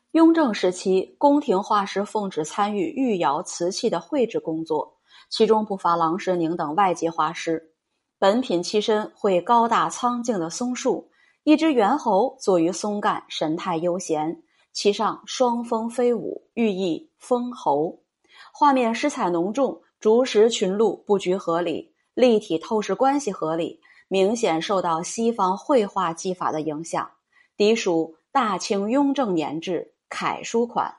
雍正时期，宫廷画师奉旨参与御窑瓷器的绘制工作，其中不乏郎世宁等外籍画师。本品漆身绘高大苍劲的松树，一只猿猴坐于松干，神态悠闲，其上双峰飞舞，寓意封侯。画面诗彩浓重，竹石群鹿布局合理，立体透视关系合理，明显受到西方绘画技法的影响，嫡属大清雍正年制楷书款。